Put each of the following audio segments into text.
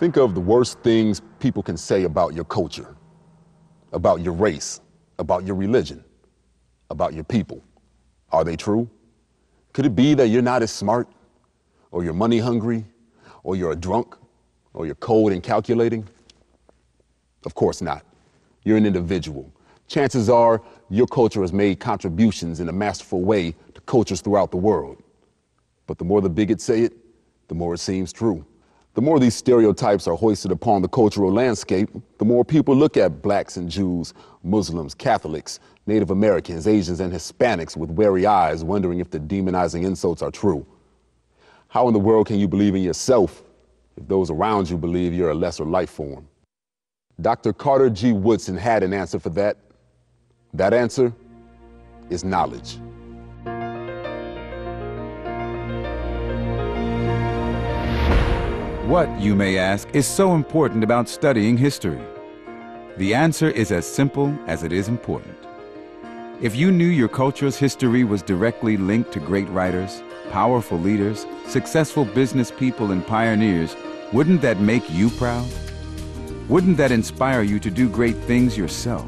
Think of the worst things people can say about your culture, about your race, about your religion, about your people. Are they true? Could it be that you're not as smart, or you're money hungry, or you're a drunk, or you're cold and calculating? Of course not. You're an individual. Chances are your culture has made contributions in a masterful way to cultures throughout the world. But the more the bigots say it, the more it seems true. The more these stereotypes are hoisted upon the cultural landscape, the more people look at blacks and Jews, Muslims, Catholics, Native Americans, Asians, and Hispanics with wary eyes, wondering if the demonizing insults are true. How in the world can you believe in yourself if those around you believe you're a lesser life form? Dr. Carter G. Woodson had an answer for that. That answer is knowledge. What, you may ask, is so important about studying history? The answer is as simple as it is important. If you knew your culture's history was directly linked to great writers, powerful leaders, successful business people, and pioneers, wouldn't that make you proud? Wouldn't that inspire you to do great things yourself?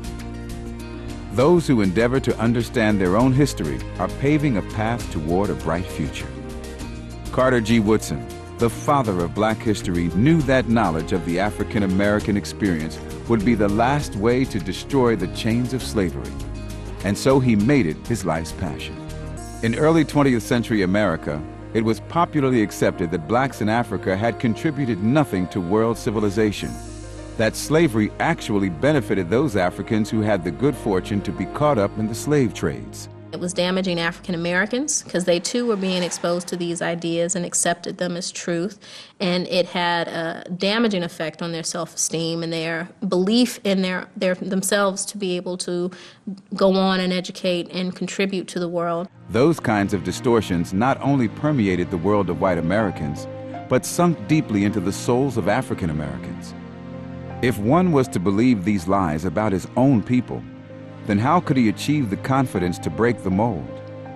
Those who endeavor to understand their own history are paving a path toward a bright future. Carter G. Woodson, the father of Black history, knew that knowledge of the African American experience would be the last way to destroy the chains of slavery. And so he made it his life's passion. In early 20th century America, it was popularly accepted that blacks in Africa had contributed nothing to world civilization, that slavery actually benefited those Africans who had the good fortune to be caught up in the slave trades. It was damaging African Americans because they too were being exposed to these ideas and accepted them as truth. And it had a damaging effect on their self-esteem and their belief in their themselves to be able to go on and educate and contribute to the world. Those kinds of distortions not only permeated the world of white Americans, but sunk deeply into the souls of African Americans. If one was to believe these lies about his own people, then how could he achieve the confidence to break the mold?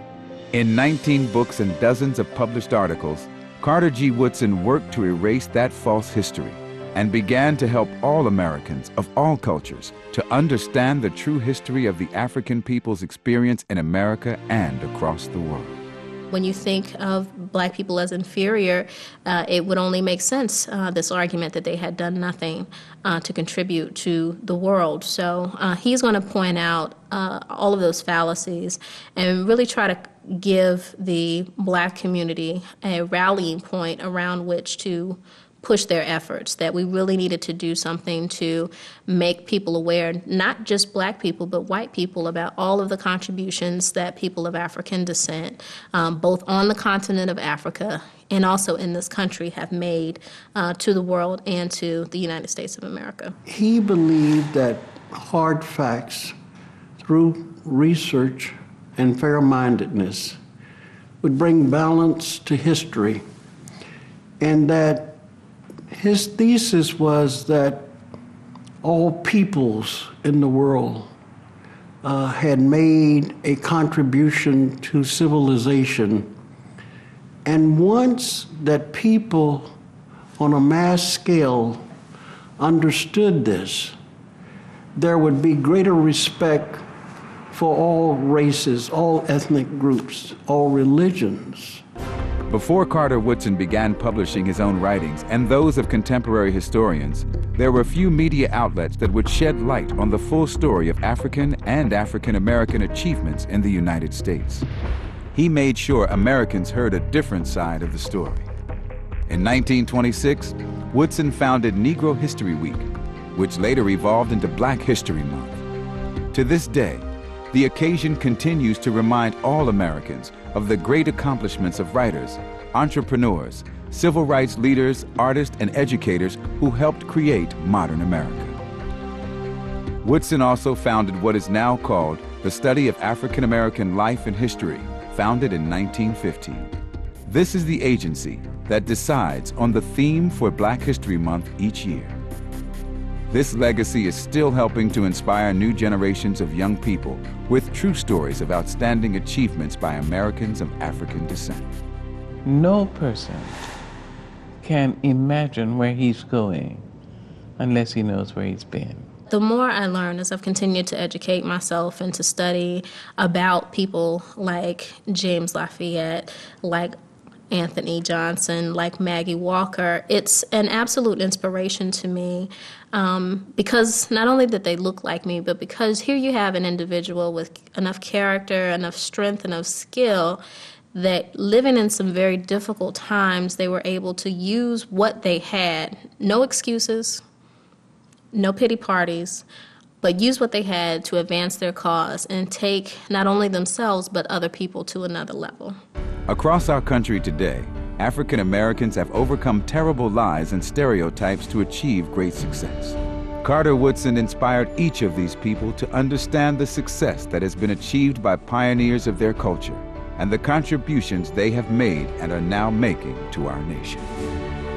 In 19 books and dozens of published articles, Carter G. Woodson worked to erase that false history and began to help all Americans of all cultures to understand the true history of the African people's experience in America and across the world. When you think of black people as inferior, it would only make sense, this argument that they had done nothing to contribute to the world. So he's going to point out all of those fallacies and really try to give the black community a rallying point around which to push their efforts, that we really needed to do something to make people aware, not just black people, but white people, about all of the contributions that people of African descent, both on the continent of Africa and also in this country, have made to the world and to the United States of America. He believed that hard facts, through research and fair-mindedness, would bring balance to history, and that his thesis was that all peoples in the world had made a contribution to civilization. And once that people on a mass scale understood this, there would be greater respect for all races, all ethnic groups, all religions. Before Carter Woodson began publishing his own writings and those of contemporary historians, there were few media outlets that would shed light on the full story of African and African American achievements in the United States. He made sure Americans heard a different side of the story. In 1926, Woodson founded Negro History Week, which later evolved into Black History Month. To this day, the occasion continues to remind all Americans of the great accomplishments of writers, entrepreneurs, civil rights leaders, artists, and educators who helped create modern America. Woodson also founded what is now called the Study of African American Life and History, founded in 1915. This is the agency that decides on the theme for Black History Month each year. This legacy is still helping to inspire new generations of young people with true stories of outstanding achievements by Americans of African descent. No person can imagine where he's going unless he knows where he's been. The more I learn as I've continued to educate myself and to study about people like James Lafayette, like Anthony Johnson, like Maggie Walker, it's an absolute inspiration to me because not only did they look like me, but because here you have an individual with enough character, enough strength, enough skill that living in some very difficult times, they were able to use what they had, no excuses, no pity parties, but use what they had to advance their cause and take not only themselves but other people to another level. Across our country today, African Americans have overcome terrible lies and stereotypes to achieve great success. Carter Woodson inspired each of these people to understand the success that has been achieved by pioneers of their culture and the contributions they have made and are now making to our nation.